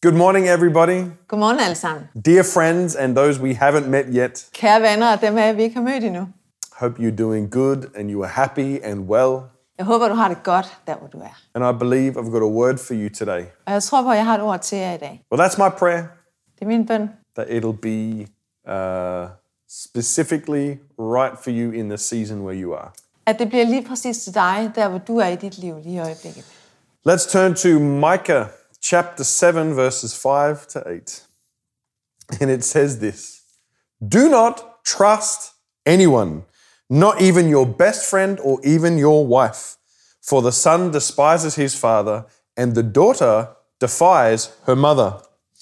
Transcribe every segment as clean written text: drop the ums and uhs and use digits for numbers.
Good morning, everybody. Godmorgen alle sammen. Dear friends and those we haven't met yet. Kære venner og dem af jer, vi ikke har mødt endnu. Hope you're doing good and you are happy and well. Jeg håber, du har det godt, der hvor du er. And I believe I've got a word for you today. Og jeg tror på, at jeg har et ord til jer i dag. Well, that's my prayer. Det er min bøn. That it'll be specifically right for you in the season where you are. At det bliver lige præcis til dig, der hvor du er i dit liv lige i øjeblikket. Let's turn to Micah chapter 7 verses 5 to 8. And it says this. Do not trust anyone, not even your best friend or even your wife. For the son despises his father, and the daughter defies her mother.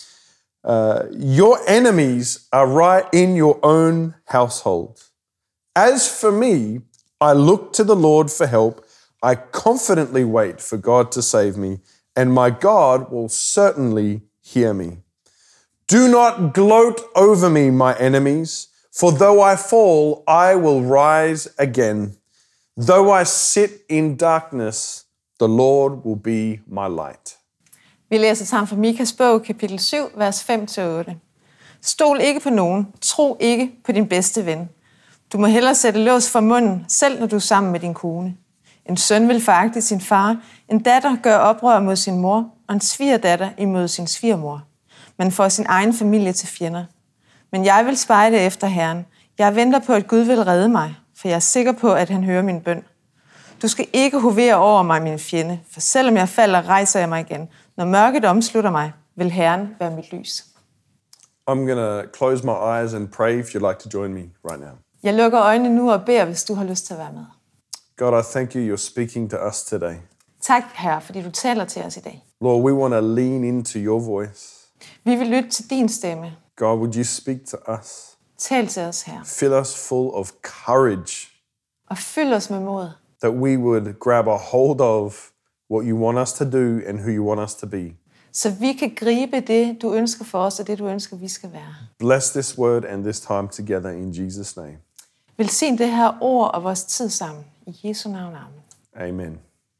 Your enemies are right in your own household. As for me, I look to the Lord for help. I confidently wait for God to save me, and my God will certainly hear me. Do not gloat over me, my enemies, for though I fall, I will rise again. Though I sit in darkness, the Lord will be my light. Vi læser sammen fra Mikas bog, kapitel 7, vers 5-8. Stol ikke på nogen. Tro ikke på din bedste ven. Du må hellere sætte lås for munden, selv når du er sammen med din kone. En søn vil foragte sin far, en datter gør oprør mod sin mor, og en svigerdatter imod sin svigermor. Man får sin egen familie til fjender. Men jeg vil spejde efter Herren. Jeg venter på, at Gud vil redde mig, for jeg er sikker på, at han hører min bøn. Du skal ikke hovere over mig, min fjende, for selvom jeg falder, rejser jeg mig igen. Når mørket omslutter mig, vil Herren være mit lys. I'm going to close my eyes and pray if you'd like to join me right now. Jeg lukker øjnene nu og beder, hvis du har lyst til at være med. God, I thank you, you're speaking to us today. Tak, Herre, fordi du taler til os i dag. Lord, we want to lean into your voice. Vi vil lytte til din stemme. God, would you speak to us? Tal til os, Herre. Fill us full of courage. Og fyld os med mod. That we would grab a hold of what you want us to do and who you want us to be. Så vi kan gribe det, du ønsker for os, og det, du ønsker, vi skal være. Bless this word and this time together in Jesus' name. Velsign det her ord og vores tid sammen. I Jesu navn, amen. Amen.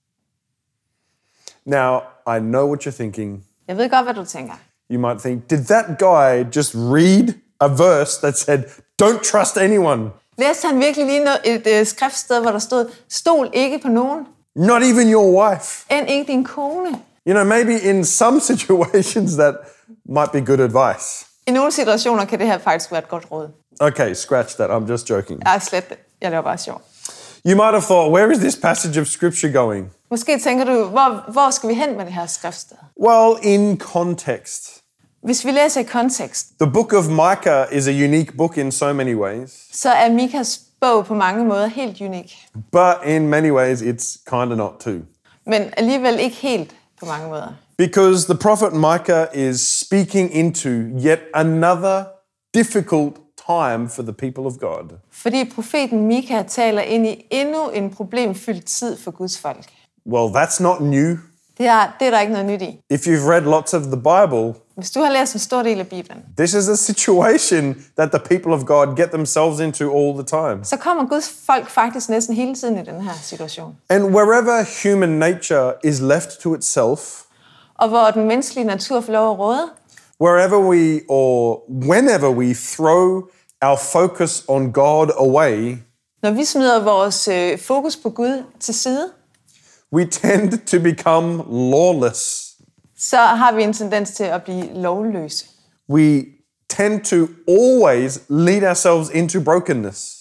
Now, I know what you're thinking. Jeg ved godt, hvad du tænker. You might think, did that guy just read a verse that said, don't trust anyone? Læste han virkelig lige et skriftsted, hvor der stod, stol ikke på nogen, Not even your wife. end ikke din kone. You know, maybe in some situations that might be good advice. I nogle situationer kan det her faktisk være et godt råd. Okay, scratch that. I'm just joking. Jeg slet det. Jeg laver bare sjov. You might have thought, where is this passage of scripture going? Måske tænker du, hvor skal vi hen med det her skriftsted? Well, in context. Hvis vi læser i kontekst, The book of Micah is a unique book in so many ways, så er Mikas bog på mange måder helt unik. but in many ways it's kind of not too. Men alligevel ikke helt på mange måder. Because the prophet Micah is speaking into yet another difficult time for the people of God. Fordi profeten Mika taler ind i endnu en problemfyldt tid for Guds folk. Well, that's not new. Det er der ikke noget nyt i. If you've read lots of the Bible, Hvis du har læst en stor del af Bibelen, this is a situation that the people of God get themselves into all the time. så kommer Guds folk faktisk næsten hele tiden i den her situation. And wherever human nature is left to itself, Og hvor den menneskelige natur får lov at råde, whenever we throw our focus on God away, når vi smider vores fokus på Gud til side, we tend to become lawless. så har vi en tendens til at blive lovløse. We tend to always lead ourselves into brokenness.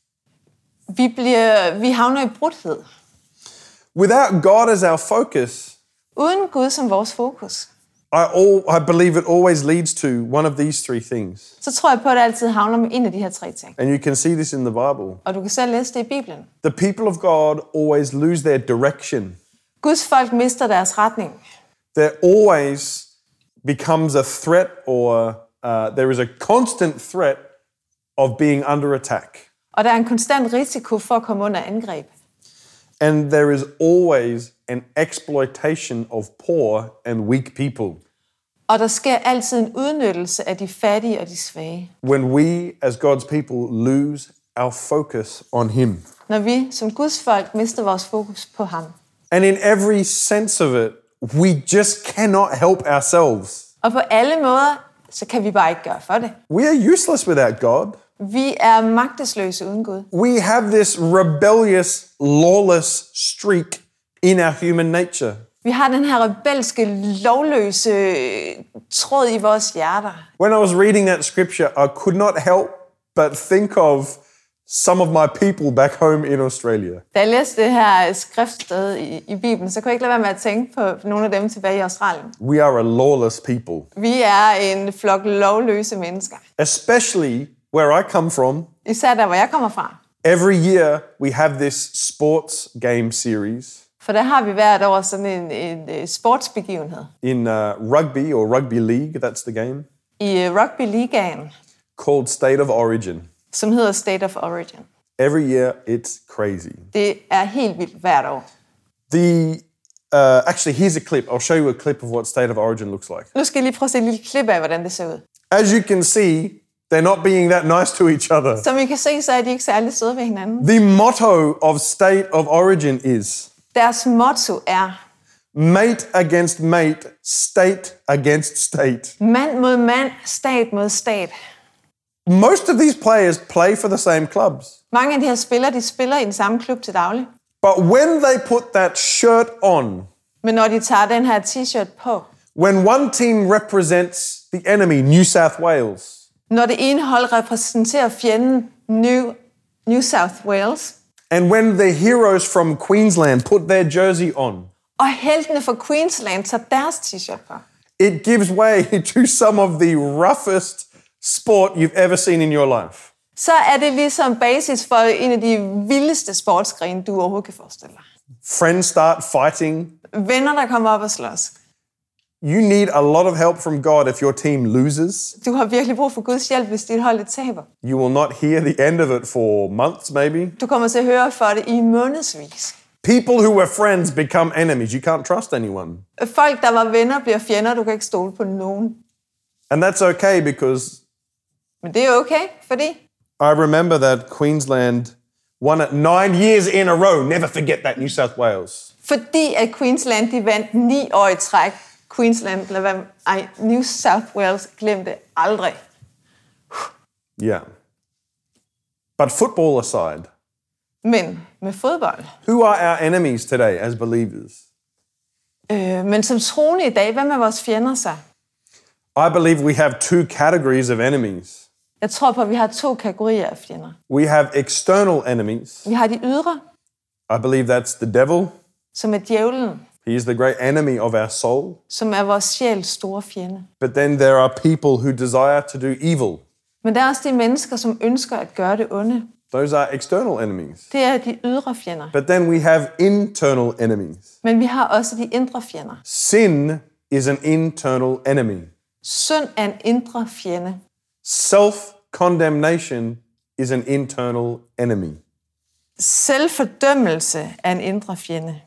Vi havner i brudhed. Without God as our focus, Uden Gud som vores fokus, I believe it always leads to one of these three things. så tror jeg på, at det altid havner med en af de her tre ting. And you can see this in the Bible. Og du kan selv læse det i Bibelen. The people of God always lose their direction. Guds folk mister deres retning. There always becomes a threat or there is a constant threat of being under attack. Og der er en konstant risiko for at komme under angreb. And there is always an exploitation of poor and weak people. Og der sker altid en udnyttelse af de fattige og de svage. When we as God's people lose our focus on him. Når vi som Guds folk mister vores fokus på ham. And in every sense of it, we just cannot help ourselves. Og på alle måder, så kan vi bare ikke gøre for det. We are useless without God. Vi er magtesløse uden Gud. We have this rebellious, lawless streak in our human nature. Vi har den her rebelske, lovløse tråd i vores hjerter. When I was reading that scripture, I could not help but think of some of my people back home in Australia. Da jeg læste det her skriftsted i Bibelen, så kunne jeg ikke lade være med at tænke på nogle af dem tilbage i Australien. We are a lawless people. Vi er en flok lovløse mennesker. Especially where I come from. Især der, hvor jeg kommer fra. Every year we have this sports game series. For der har vi hvert år sådan en sportsbegivenhed. In rugby or rugby league, that's the game. I rugby-ligaen. Called State of Origin. Som hedder State of Origin. Every year it's crazy. Det er helt vildt hvert år. Actually, here's a clip. I'll show you a clip of what State of Origin looks like. Nu skal jeg lige prøve at se et lille klip af, hvordan det ser ud. As you can see, they're not being that nice to each other. Som I kan se, så er de ikke særlig søde ved hinanden. The motto of State of Origin is Deres motto er mate against mate, state against state. mand mod mand, stat mod stat. Most of these players play for the same clubs. Mange af de her spillere, de spiller i den samme klub til daglig. But when they put that shirt on, Men når de tager den her t-shirt på, when one team represents the enemy, New South Wales, når det ene hold repræsenterer fjenden New South Wales, and when the heroes from Queensland put their jersey on, og heltene fra Queensland tager deres t-shirt på, it gives way to some of the roughest sport you've ever seen in your life. så er det ligesom basis for en af de vildeste sportsgrene, du overhovedet kan forestille dig. Friends start fighting. Venner, der kommer op og slås. You need a lot of help from God if your team loses. Du har virkelig brug for Guds hjælp, hvis dit hold taber. You will not hear the end of it for months, maybe. Du kommer til at høre for det i månedsvis. People who were friends become enemies. You can't trust anyone. Folk, der var venner, bliver fjender. Du kan ikke stole på nogen. And that's okay because Men det er okay, fordi I remember that Queensland won it 9 years in a row. Never forget that, New South Wales. at Queensland de vandt 9 år i træk. New South Wales glemte aldrig. Yeah. But football aside, Men med fodbold. who are our enemies today as believers? Men som troende i dag, hvem er vores fjender så? I believe we have two categories of enemies. Jeg tror på, at vi har 2 kategorier af fjender. We have external enemies. Vi har de ydre, I believe that's the devil. som er djævlen, He is the great enemy of our soul. som er vores sjæls store fjende. But then there are people who desire to do evil. Men der er også de mennesker, som ønsker at gøre det onde. Those are external enemies. Det er de ydre fjender. But then we have internal enemies. Men vi har også de indre fjender. Sin is an internal enemy. Synd er en indre fjende. Self-condemnation is an internal enemy. Selvfordømmelse er en indre fjende.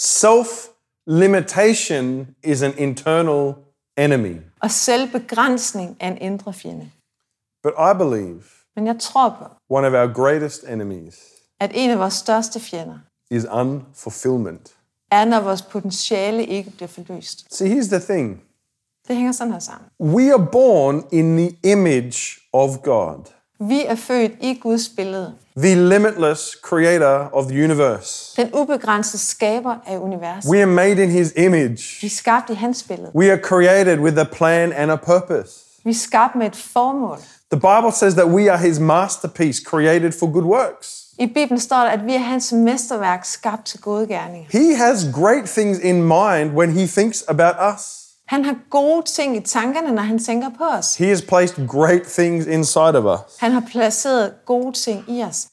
Self-limitation is an internal enemy. Og selvbegrænsning er en indre fjende. But I believe Men jeg tror på, one of our greatest enemies at en af vores største fjender is unfulfillment. er, når vores potentiale ikke bliver forløst. See, here's the thing. Det hænger sådan her sammen. We are born in the image of God, Vi er født i Guds billede. the limitless creator of the universe. Den ubegrænsede skaber af universet. We are made in his image. Vi er skabt i hans billede. We are created with a plan and a purpose. Vi er skabt med et formål. The Bible says that we are his masterpiece, created for good works. I Bibelen står der, at vi er hans mesterværk, skabt til gode gerninger. He has great things in mind when he thinks about us. Han har gode ting i tankerne, når han tænker på os. He has placed great things inside of us. Han har placeret gode ting i os.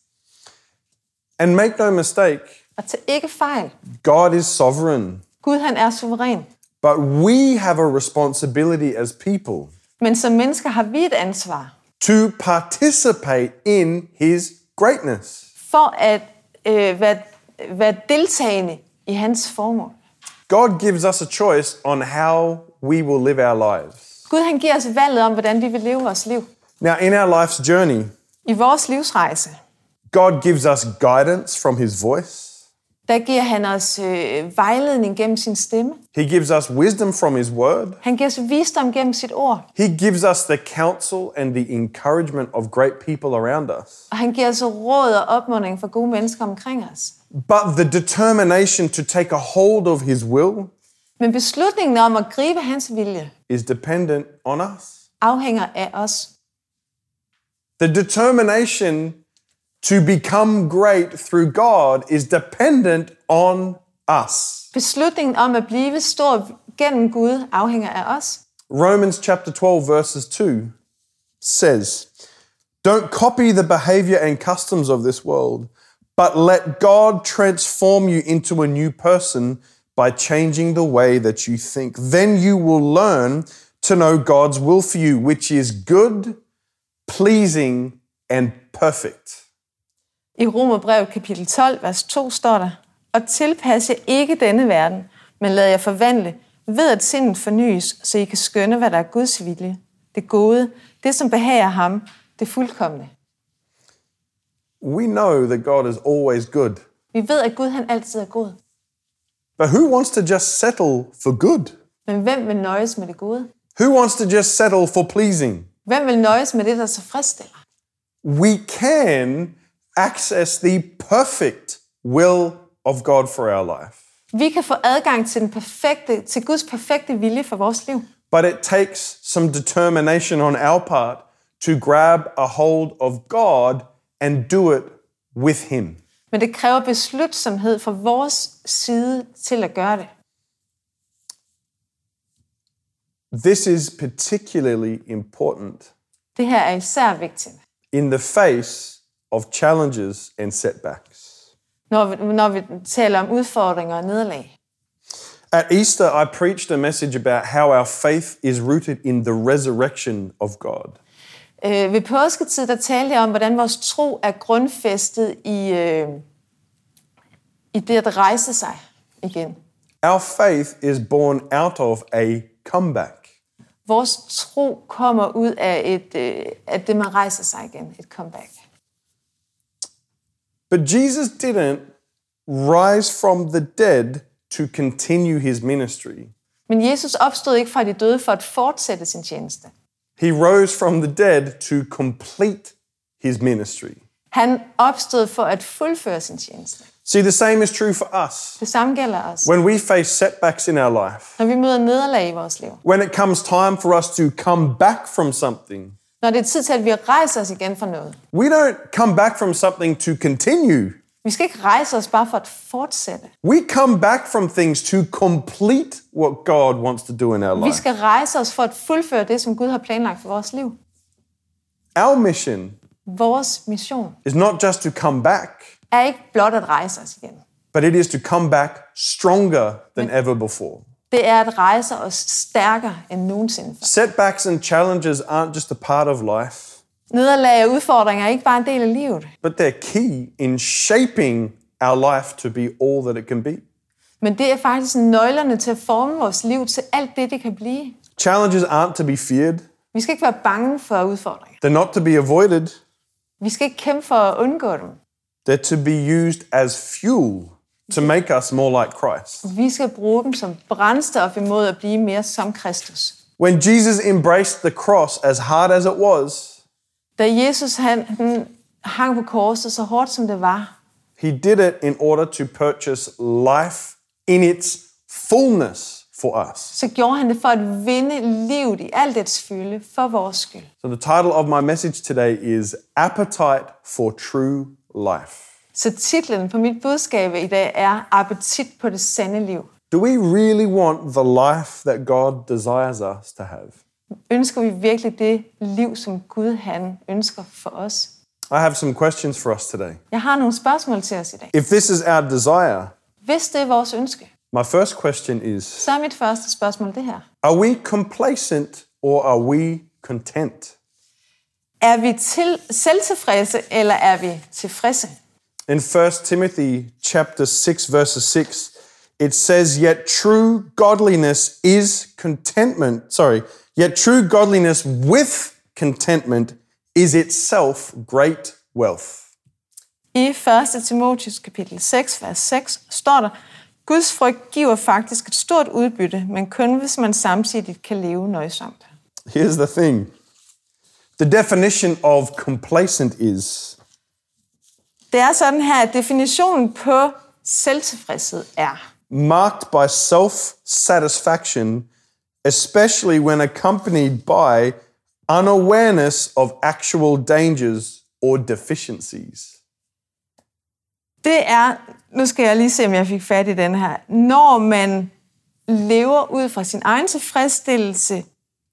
And make no mistake, Og til ikke fejl. God is sovereign. Gud, han er suveræn. But we have a responsibility as people Men som mennesker har vi et ansvar to participate in his greatness. for at være deltagende i hans formål. God gives us a choice on how we will live our lives. Gud, han giver os valget om, hvordan vi vil leve vores liv. Now, in our life's journey, I vores livsrejse. God gives us guidance from his voice. Der giver han os vejledning gennem sin stemme. He gives us wisdom from his word. Han giver os visdom gennem sit ord. He gives us the counsel and the encouragement of great people around us. Og han giver os råd og opmuntring for gode mennesker omkring os. But the determination to take a hold of his will Men beslutningen om at gribe hans vilje is dependent on us. afhænger af os. The determination to become great through God is dependent on us. Beslutningen om at blive stor gennem Gud afhænger af os. Romans chapter 12 verses 2 says, "Don't copy the behavior and customs of this world, but let God transform you into a new person by changing the way that you think. Then you will learn to know God's will for you, which is good, pleasing, and perfect." I Romerbrevet kapitel 12, vers 2 står der, "Og tilpas jer ikke denne verden, men lad jer forvandle ved at sindet fornyes, så I kan skønne, hvad der er Guds vilje, det gode, det som behager ham, det fuldkomne." We know that God is always good. Vi ved, at Gud han altid er god. But who wants to just settle for good? Men hvem vil nøjes med det gode? Who wants to just settle for pleasing? Hvem vil nøjes med det, der tilfredsstiller? We can access the perfect will of God for our life. Vi kan få adgang til Guds perfekte vilje for vores liv. But it takes some determination on our part to grab a hold of God and do it with him. Men det kræver beslutsomhed fra vores side til at gøre det. This is particularly important Det her er især vigtigt, in the face of challenges and setbacks. når vi taler om udfordringer og nederlag. At Easter, I preached a message about how our faith is rooted in the resurrection of God. Ved påsketid, der talte jeg om, hvordan vores tro er grundfæstet i det at rejse sig igen. Our faith is born out of a comeback. Vores tro kommer ud af det, man rejser sig igen, et comeback. But Jesus didn't rise from the dead to continue his ministry. Men Jesus opstod ikke fra de døde for at fortsætte sin tjeneste. He rose from the dead to complete his ministry. Han opstod for at fuldføre sin tjeneste. See, the same is true for us. Det samme gælder os. When we face setbacks in our life, Når vi møder nederlag i vores liv. when it comes time for us to come back from something, Når det er tid til, at vi rejser os igen fra noget. we don't come back from something to continue. Vi skal ikke rejse os bare for at fortsætte. We come back from things to complete what God wants to do in our Vi life. skal rejse os for at fuldføre det, som Gud har planlagt for vores liv. Our mission Vores mission is not just to come back, er ikke blot at rejse os igen. but it is to come back stronger than ever before. Det er at rejse os stærkere end nogensinde før. Setbacks and challenges aren't just a part of life, Nederlag og udfordringer er ikke bare en del af livet, but they're key in shaping our life to be all that it can be. men det er faktisk nøglerne til at forme vores liv til alt det kan blive. Challenges aren't to be feared. Vi skal ikke være bange for udfordringer. They're not to be avoided. Vi skal ikke kæmpe for at undgå dem. They're to be used as fuel to make us more like Christ. Vi skal bruge dem som brændstof imod at blive mere som Kristus. When Jesus embraced the cross, as hard as it was, Da Jesus han hang på korset så hårdt som det var, he did it in order to purchase life in its fullness for us. så gjorde han det for at vinde livet i alt dets fylde for vores skyld. So the title of my message today is Appetite for True Life. Så titlen på mit budskab i dag er Appetit på det sande liv. Do we really want the life that God desires us to have? Ønsker vi virkelig det liv, som Gud han ønsker for os? I have some questions for us today. Jeg har nogle spørgsmål til os i dag. If this is our desire, Hvis det er vores ønske, my first question is, så er mit første spørgsmål det her. are we complacent or are we content? Er vi selvtilfredse, eller er vi tilfredse? In 1 Timothy chapter 6 verse 6, it says, yet true godliness with contentment is itself great wealth. I 1. Timotheus kapitel 6, vers 6 står der, Guds frygt giver faktisk et stort udbytte, men kun hvis man samtidig kan leve nøjsomt. Here's the thing. The definition of complacent is Det er sådan her, at definitionen på selvtilfredshed er marked by self-satisfaction, especially when accompanied by unawareness of actual dangers or deficiencies. Det er, nu skal jeg lige se, om jeg fik fat i den her, når man lever ud fra sin egen tilfredsstillelse,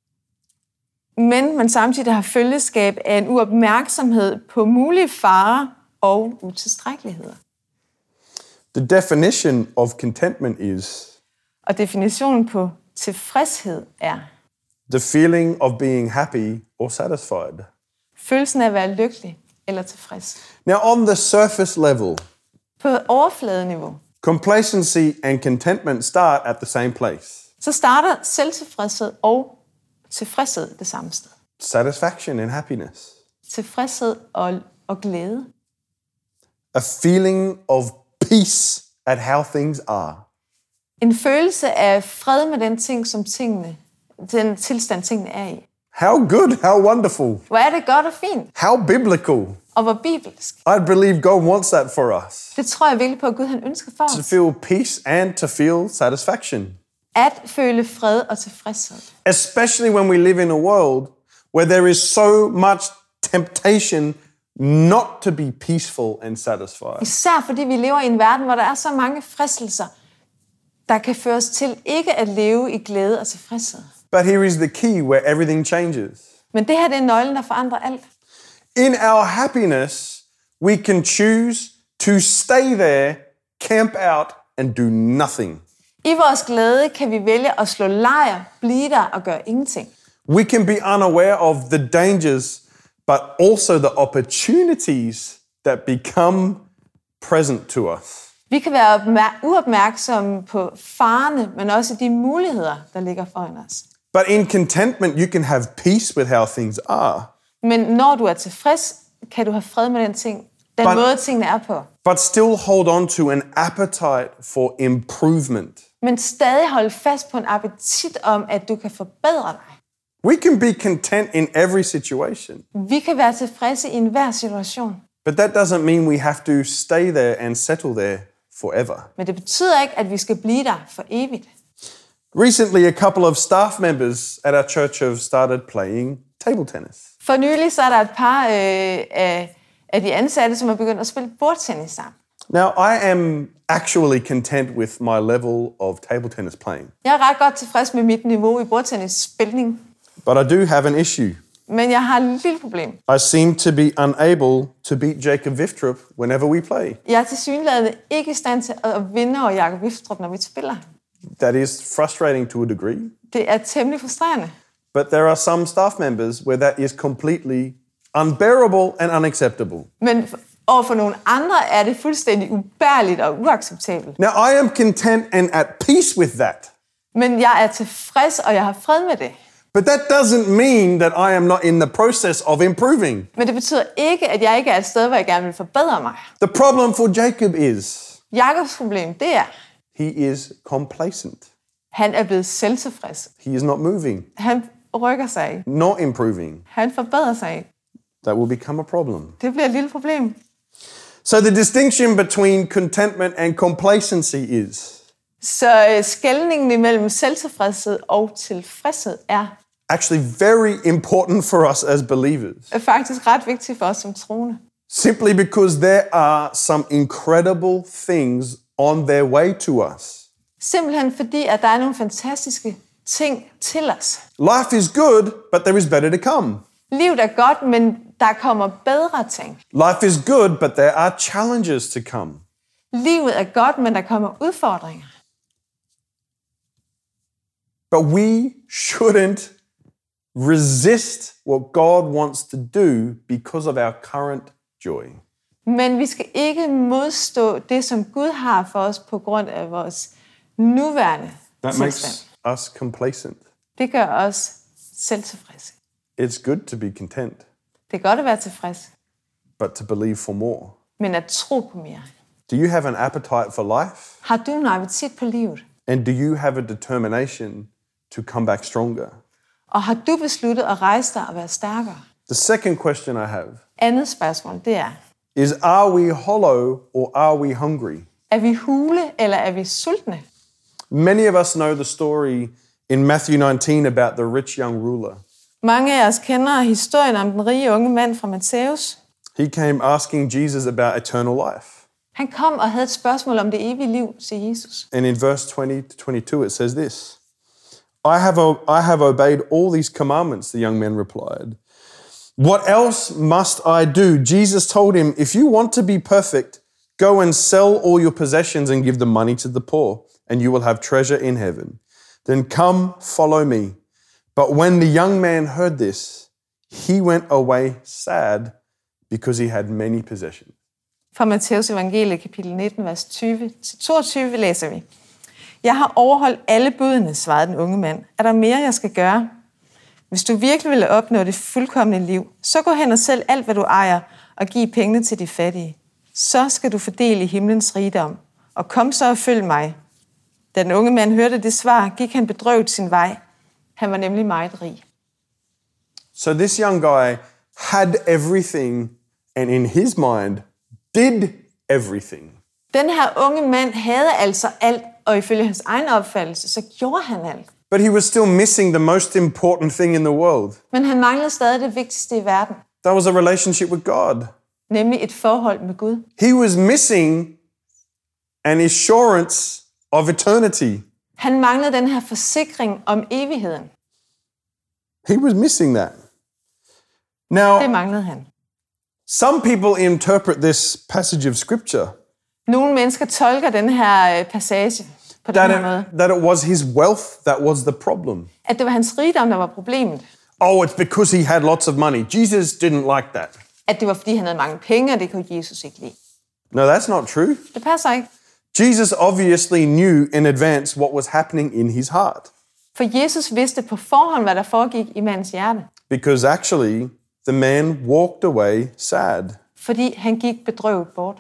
men man samtidig har følgeskab af en uopmærksomhed på mulige farer og utilstrækkeligheder. The definition of contentment is Og definitionen på tilfredshed er the feeling of being happy or satisfied. følelsen af at være lykkelig eller tilfreds. Now, on the surface level, På overfladeniveau, complacency and contentment start at the same place. så starter selvtilfredshed og tilfredshed det samme sted. Satisfaction and happiness. Tilfredshed og glæde. A feeling of peace at how things are. En følelse af fred med den tilstand tingene er i. How good, how wonderful, Hvor er det godt og fint, how biblical. og hvor bibelsk. I believe God wants that for us. Det tror jeg virkelig på, at Gud han ønsker for To os. feel peace and to feel satisfaction. At føle fred og tilfredshed. Especially when we live in a world where there is so much temptation not to be peaceful and satisfied. Især fordi vi lever i en verden, hvor der er så mange fristelser, der kan føre os til ikke at leve i glæde og tilfredshed. But here is the key where everything changes. Men det her det er nøglen, der forandrer alt. In our happiness, we can choose to stay there, camp out, and do nothing. I vores glæde kan vi vælge at slå lejr, blive der og gøre ingenting. We can be unaware of the dangers, but also the opportunities that become present to us. Vi kan være uopmærksomme på farerne, men også de muligheder, der ligger foran os. But in contentment, you can have peace with how things are, Men når du er tilfreds, kan du have fred med den måde, tingene er på. but still hold on to an appetite for improvement. Men stadig holde fast på en appetit om, at du kan forbedre dig. We can be content in every situation, Vi kan være tilfredse i enhver situation. but that doesn't mean we have to stay there and settle there forever. Men det betyder ikke, at vi skal blive der for evigt. Recently, a couple of staff members at our church have started playing table tennis. For nylig så er der et par af de ansatte, som er begyndt at spille bordtennis sammen. Now, I am actually content with my level of table tennis playing, Jeg er ret godt tilfreds med mit niveau i bordtennisspilning, but I do have an issue. men jeg har et lille problem. I seem to be unable to beat Jacob Viftrup whenever we play. Jeg er tilsyneladende ikke i stand til at vinde over Jakob Wiftrup, når vi spiller. That is frustrating to a degree, Det er temmelig frustrerende. but there are some staff members where that is completely unbearable and unacceptable. Men overfor nogle andre er det fuldstændig ubærligt og uacceptabelt. Now, I am content and at peace with that, Men jeg er tilfreds, og jeg har fred med det. but that doesn't mean that I am not in the process of improving. Men det betyder ikke, at jeg ikke er et sted, hvor jeg gerne vil forbedre mig. The problem for Jacob is Jakobs problem, det er, he is complacent. han er blevet selvtilfreds. He is not moving, Han rykker sig ikke. not improving. Han forbedrer sig ikke. That will become a problem. Det bliver et lille problem. So the distinction between contentment and complacency is Så skelningen imellem selvtilfredshed og tilfredshed er actually very important for us as believers, faktisk ret vigtigt for os som troende. simply because there are some incredible things on their way to us. Simpelthen fordi, at der er nogle fantastiske ting til os. Life is good, but there is better to come. Livet er godt, men der kommer bedre ting. Life is good, but there are challenges to come. Livet er godt, men der kommer udfordringer. But we shouldn't resist what God wants to do because of our current joy. Men vi skal ikke modstå det, som Gud har for os på grund af vores nuværende That tilstand. makes us complacent. Det gør os selvtilfredse. It's good to be content, Det er godt at være tilfreds, but to believe for more. men at tro på mere. Do you have an appetite for life? Har du en appetit på livet? And do you have a determination to come back stronger? Og har du besluttet at rejse dig og være stærkere? The second question I have Andet spørgsmål, det er, is, are we hollow or are we hungry? er vi hule eller er vi sultne? Many of us know the story in Matthew 19 about the rich young ruler. Mange af os kender historien om den rige unge mand fra Matthæus. He came asking Jesus about eternal life. Han kom og havde et spørgsmål om det evige liv til Jesus. And in verse 20-22 it says this, I have obeyed all these commandments, the young man replied. What else must I do? Jesus told him, if you want to be perfect, go and sell all your possessions and give the money to the poor, and you will have treasure in heaven. Then come, follow me. But when the young man heard this, he went away sad because he had many possessions. Fra Matthæus evangelie, kapitel 19, vers 20-22 læser vi. Jeg har overholdt alle budene, svarede den unge mand. Er der mere, jeg skal gøre? Hvis du virkelig vil opnå det fuldkomne liv, så gå hen og sælg alt, hvad du ejer, og giv pengene til de fattige. Så skal du fordele himlens rigdom, og kom så og følg mig. Da den unge mand hørte det svar, gik han bedrøvet sin vej. Han var nemlig meget rig. So this young guy had everything, and in his mind, did everything. Den her unge mand havde altså alt, og ifølge hans egen opfattelse, så gjorde han alt. But he was still missing the most important thing in the world. Men han manglede stadig det vigtigste i verden, That was a relationship with God. nemlig et forhold med Gud. He was missing an assurance of eternity. Han manglede den her forsikring om evigheden. He was missing that. Det Now, manglede han. some people interpret this passage of scripture Nogle mennesker tolker den her passage på den her måde, that it was his wealth that was the problem. at det var hans rigdom, der var problemet. Oh, it's because he had lots of money. Jesus didn't like that. At det var, fordi han havde mange penge, og det kunne Jesus ikke lide. No, that's not true. Det passer ikke. Jesus obviously knew in advance what was happening in his heart. For Jesus vidste på forhånd, hvad der foregik i mandens hjerte. Because actually, the man walked away sad. Fordi han gik bedrøvet bort.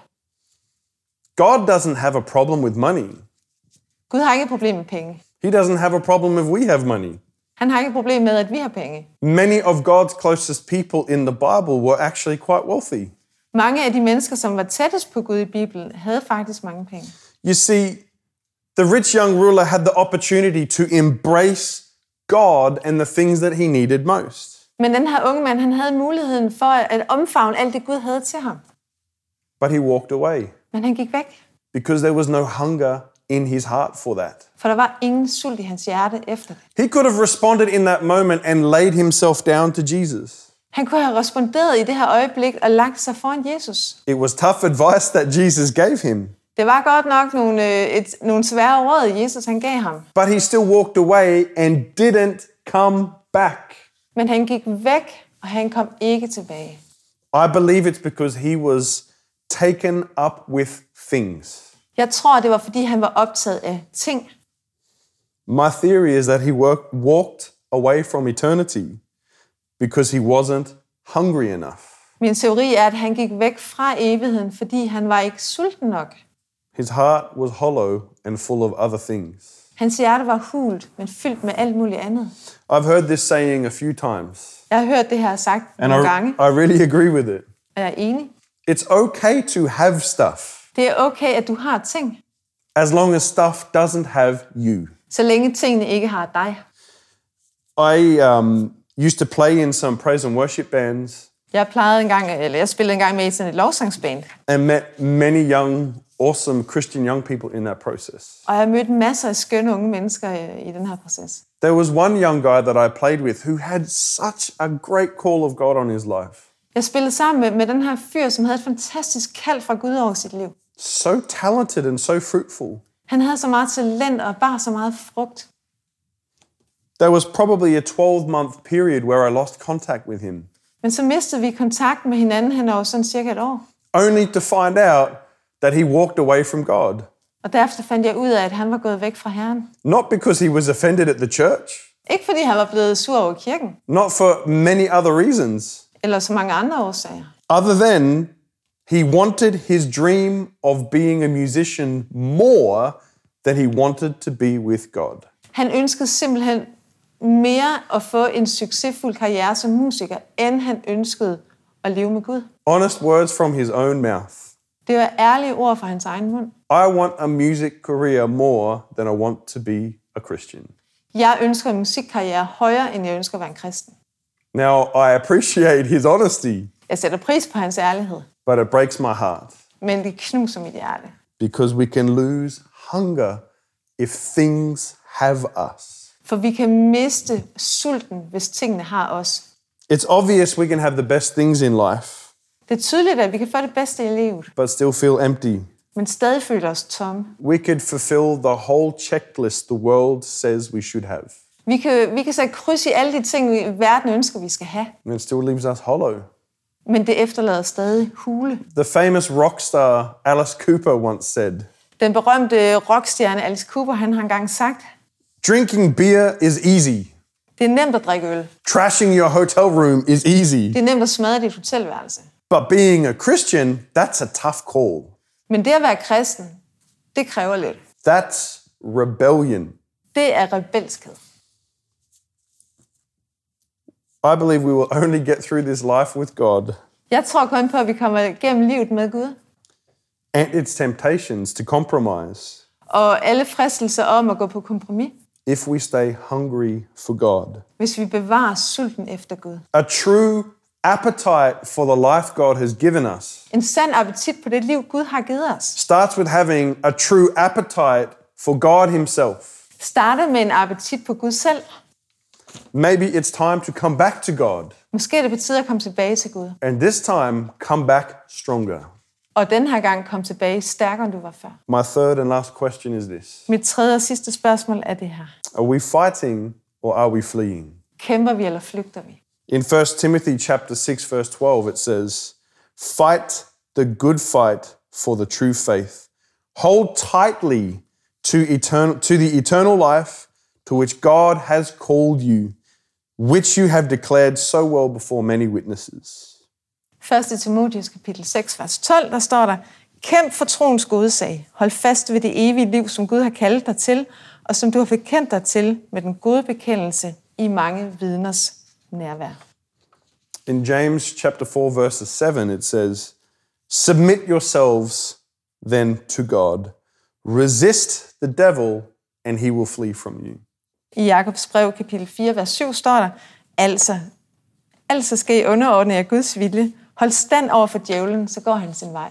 God doesn't have a problem with money. Gud har ikke et problem med penge. He doesn't have a problem if we have money. Han har ikke et problem med, at vi har penge. Many of God's closest people in the Bible were actually quite wealthy. Mange af de mennesker, som var tættest på Gud i Bibelen, havde faktisk mange penge. You see, the rich young ruler had the opportunity to embrace God and the things that he needed most. Men den her unge mand, han havde muligheden for at omfavne alt det, Gud havde til ham. But he walked away Men han gik væk, because there was no hunger in his heart for that. for der var ingen sult i hans hjerte efter det. He could have responded in that moment and laid himself down to Jesus. Han kunne have responderet i det her øjeblik og lagt sig foran Jesus. It was tough advice that Jesus gave him, Det var godt nok nogle svære råd, Jesus han gav ham. but he still walked away and didn't come back. Men han gik væk, og han kom ikke tilbage. I believe it's because he was taken up with things. Jeg tror, det var, fordi han var optaget af ting. My theory is that he walked away from eternity because he wasn't hungry enough. Min teori er, at han gik væk fra evigheden, fordi han var ikke sulten nok. His heart was hollow and full of other things. Hans hjerte var hult, men fyldt med alt muligt andet. I've heard this saying a few times, Jeg har hørt det her sagt and nogle gange, I really agree with it. og jeg er enig. It's okay to have stuff Det er okay, at du har ting, as long as stuff doesn't have you. så længe tingene ikke har dig. I used to play in some praise and worship bands Jeg spillede engang med i sådan et lovsangsband, and met many young, awesome Christian young people in that process. og jeg mødte masser af skønne unge mennesker i den her proces. There was one young guy that I played with who had such a great call of God on his life. Jeg spillede sammen med den her fyr, som havde et fantastisk kald fra Gud over sit liv. So talented and so fruitful. Han havde så meget talent og bar så meget frugt. There was probably a 12-month period where I lost contact with him, Men så mistede vi kontakt med hinanden hen over sådan cirka et år. only to find out that he walked away from God. Og derefter fandt jeg ud af, at han var gået væk fra Herren. Not because he was offended at the church, Ikke fordi han var blevet sur over kirken, not for many other reasons, eller så mange andre årsager. other than He wanted his dream of being a musician more than he wanted to be with God. Han ønskede simpelthen mere at få en succesfuld karriere som musiker, end han ønskede at leve med Gud. Honest words from his own mouth. Det var ærlige ord fra hans egen mund. I want a music career more than I want to be a Christian. Jeg ønsker en musikkarriere højere, end jeg ønsker at være en kristen. Now, I appreciate his honesty, Jeg sætter pris på hans ærlighed, but it breaks my heart men det knuser mit hjerte. because we can lose hunger if things have us. For vi kan miste sulten, hvis tingene har os. It's obvious we can have the best things in life, Det er tydeligt, at vi kan få det bedste i livet, but still feel empty. men stadig føle os tomme. We could fulfill the whole checklist the world says we should have, Vi kan sætte kryds i alle de ting, verden ønsker, vi skal have, and it still leaves us hollow. men det efterlader stadig hule. The famous rock star Alice Cooper once said, Den berømte rockstjerne Alice Cooper, han har engang sagt, "Drinking beer is easy. det er nemt at drikke øl. Trashing your hotel room is easy. Det er nemt at smadre dit hotelværelse. But being a Christian, that's a tough call. Men det at være kristen, det kræver lidt. That's rebellion. Det er rebelskhed. I believe we will only get through this life with God Jeg tror kun på, at vi kommer igennem livet med Gud. and its temptations to compromise Og alle fristelser om at gå på kompromis, if we stay hungry for God. hvis vi bevarer sulten efter Gud. A true appetite for the life God has given us En sand appetit på det liv, Gud har givet os. starts with having a true appetite for God himself. Starter med en appetit på Gud selv. Maybe it's time to come back to God, Måske er det på tide at komme tilbage til Gud. and this time come back stronger. Og den her gang komme tilbage stærkere, end du var før. My third and last question is this. Mit tredje og sidste spørgsmål er det her. Are we fighting or are we fleeing? Kæmper vi eller flygter vi? In 1 Timothy chapter 6 verse 12 it says, "Fight the good fight for the true faith. Hold tightly to the eternal life to which God has called you, which you have declared so well before many witnesses." 1. Timotheus kapitel 6, vers 12, der står der, kæmp for troens gode sag. Hold fast ved det evige liv, som Gud har kaldt dig til, og som du har bekendt dig til med den gode bekendelse i mange vidners nærvær. In James chapter 4 verse 7 it says, "Submit yourselves then to God. Resist the devil and he will flee from you." I Jakobs brev kapitel 4, vers 7 står der, altså skal I underordne jer Guds vilje. Hold stand over for djævlen, så går han sin vej.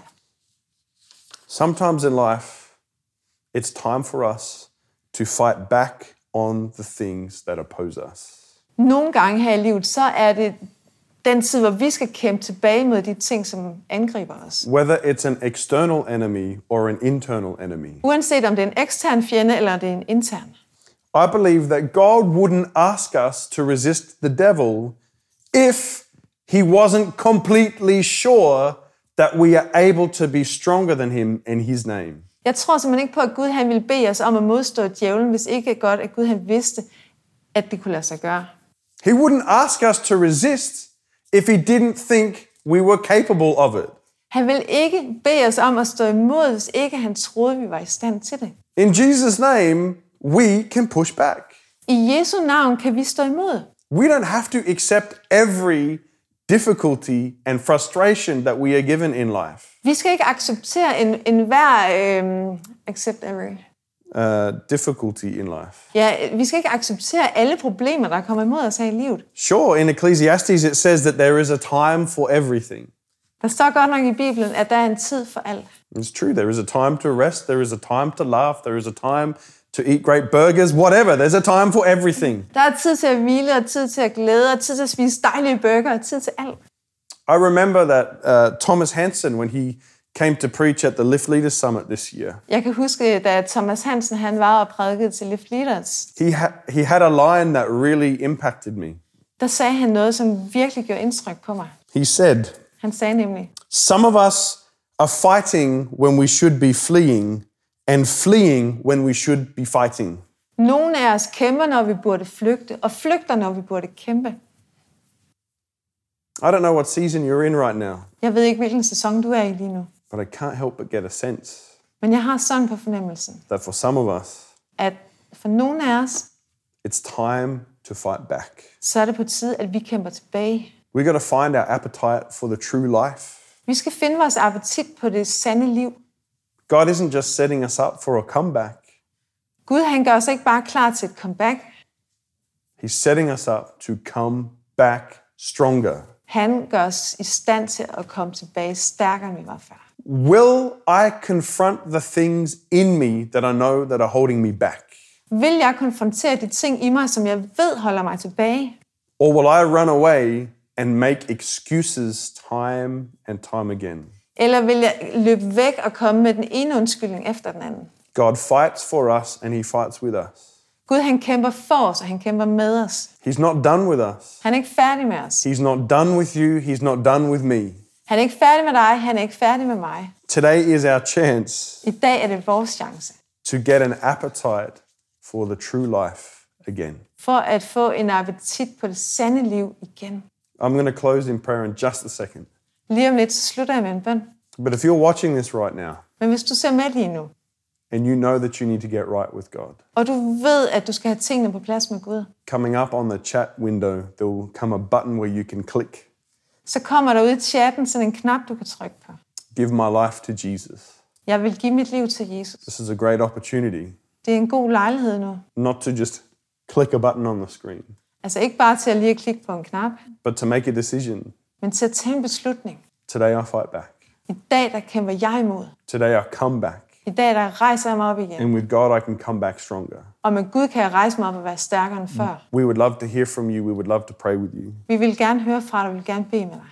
Sometimes in life, it's time for us to fight back on the things that oppose us. Nogle gange her i livet, så er det den tid, hvor vi skal kæmpe tilbage mod de ting, som angriber os. Whether it's an external enemy or an internal enemy. Uanset om det er en ekstern fjende, eller det er en intern. I believe that God wouldn't ask us to resist the devil if he wasn't completely sure that we are able to be stronger than him in his name. Jeg tror simpelthen ikke på, at Gud han ville bede os om at modstå djævlen, hvis ikke godt, at Gud han vidste, at det kunne lade sig gøre. He wouldn't ask us to resist if he didn't think we were capable of it. Han ville ikke bede os om at stå imod, hvis ikke han troede, vi var i stand til det. In Jesus' name, we can push back. I Jesu navn kan vi stå imod. We don't have to accept every difficulty and frustration that we are given in life. Vi skal ikke acceptere enhver accept every. Difficulty in life. Ja, vi skal ikke acceptere alle problemer, der kommer imod os her i livet. Sure, in Ecclesiastes it says that there is a time for everything. Der står godt nok i Bibelen, at der er en tid for alt. It's true. There is a time to rest. There is a time to laugh. There is a time to eat great burgers. Whatever. There's a time for everything. Der er tid til at hvile, og tid til at glæde, og tid til at spise dejlige burger, og tid til alt. I remember that Thomas Hansen, when he came to preach at the Lift Leaders Summit this year, Jeg kan huske, da Thomas Hansen han var og prædikede til Lift Leaders, he had a line that really impacted me. der sagde han noget, som virkelig gjorde indtryk på mig. He said, Han sagde nemlig, "Some of us are fighting when we should be fleeing, and fleeing when we should be fighting." nogle af os kæmper, når vi burde flygte, og flygter, når vi burde kæmpe. I don't know what season you're in right now, Jeg ved ikke, hvilken sæson du er i lige nu. but I can't help but get a sense Men jeg har sådan på fornemmelsen, that for some of us, at for nogle af os, it's time to fight back. så er det på tide, at vi kæmper tilbage. We got to find our appetite for the true life. Vi skal finde vores appetit på det sande liv. God isn't just setting us up for a comeback. Gud, han gør os ikke bare klar til et comeback. He's setting us up to come back stronger. Han gør os i stand til at komme tilbage stærkere, end vi var før. Will I confront the things in me that I know that are holding me back? Vil jeg konfrontere de ting i mig, som jeg ved holder mig tilbage? Or will I run away and make excuses time and time again? Eller vil jeg løbe væk og komme med den ene undskyldning efter den anden? God fights for us and he fights with us. Gud, han kæmper for os, og han kæmper med os. He's not done with us. Han er ikke færdig med os. He's not done with you. He's not done with me. Han er ikke færdig med dig, han er ikke færdig med mig. Today is our chance I dag er det vores chance to get an appetite for the true life again. for at få en appetit på det sande liv igen. I'm going to close in prayer in just a second. Lige om lidt, så slutter jeg med en bøn. But if you're watching this right now Men hvis du ser med lige nu, and you know that you need to get right with God, og du ved, at du skal have tingene på plads med Gud, coming up on the chat window, there will come a button where you can click. så kommer der ud i chatten sådan en knap, du kan trykke på. Give my life to Jesus. Jeg vil give mit liv til Jesus. This is a great opportunity Det er en god lejlighed nu. not to just click a button on the screen, Altså ikke bare til at lige klikke på en knap, but to make a decision. men til at tage en beslutning. Today I fight back. I dag, der kæmper jeg imod. Today I come back. I dag, der rejser jeg mig op igen. And with God, I can come back stronger. Og med Gud kan jeg rejse mig op og være stærkere end før. We would love to hear from you. We would love to pray with you. Vi vil gerne høre fra dig, vi vil gerne bede med dig.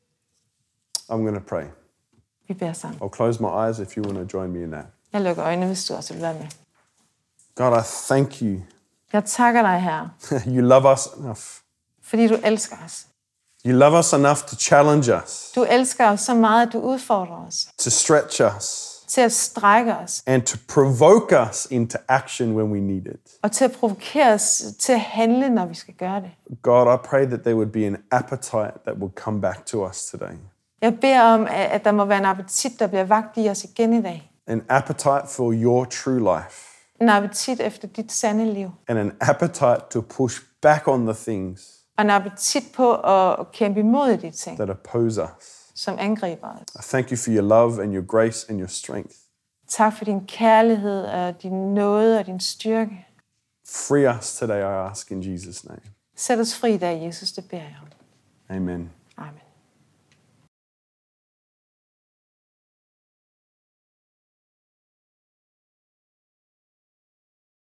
I'm going to pray. Vi beder sammen. I'll close my eyes if you want to join me in that. Jeg lukker øjnene, hvis du også vil være med. God, I thank you. Jeg takker dig, Herre, You love us enough. fordi du elsker os. You love us enough to challenge us, Du elsker os så meget, at du udfordrer os. to stretch us, Til at strække os. and to provoke us into action when we need it. Og til at provokere os til at handle, når vi skal gøre det. God, I pray that there would be an appetite that will come back to us today. Jeg beder om, at der må være en appetit, der bliver vakt i os igen i dag. An appetite for your true life. En appetit efter dit sande liv. And an appetite to push back on the things Og en appetit på at kæmpe imod de ting, that oppose us. som angriber os. I thank you for your love and your grace and your strength. Tak for din kærlighed og din nåde og din styrke. Free us today, I ask in Jesus' name. Sæt os fri i dag, Jesus, det beder jeg om. Amen. Amen.